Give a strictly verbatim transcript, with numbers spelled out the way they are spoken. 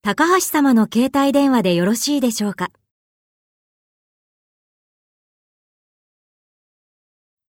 高橋様の携帯電話でよろしいでしょうか。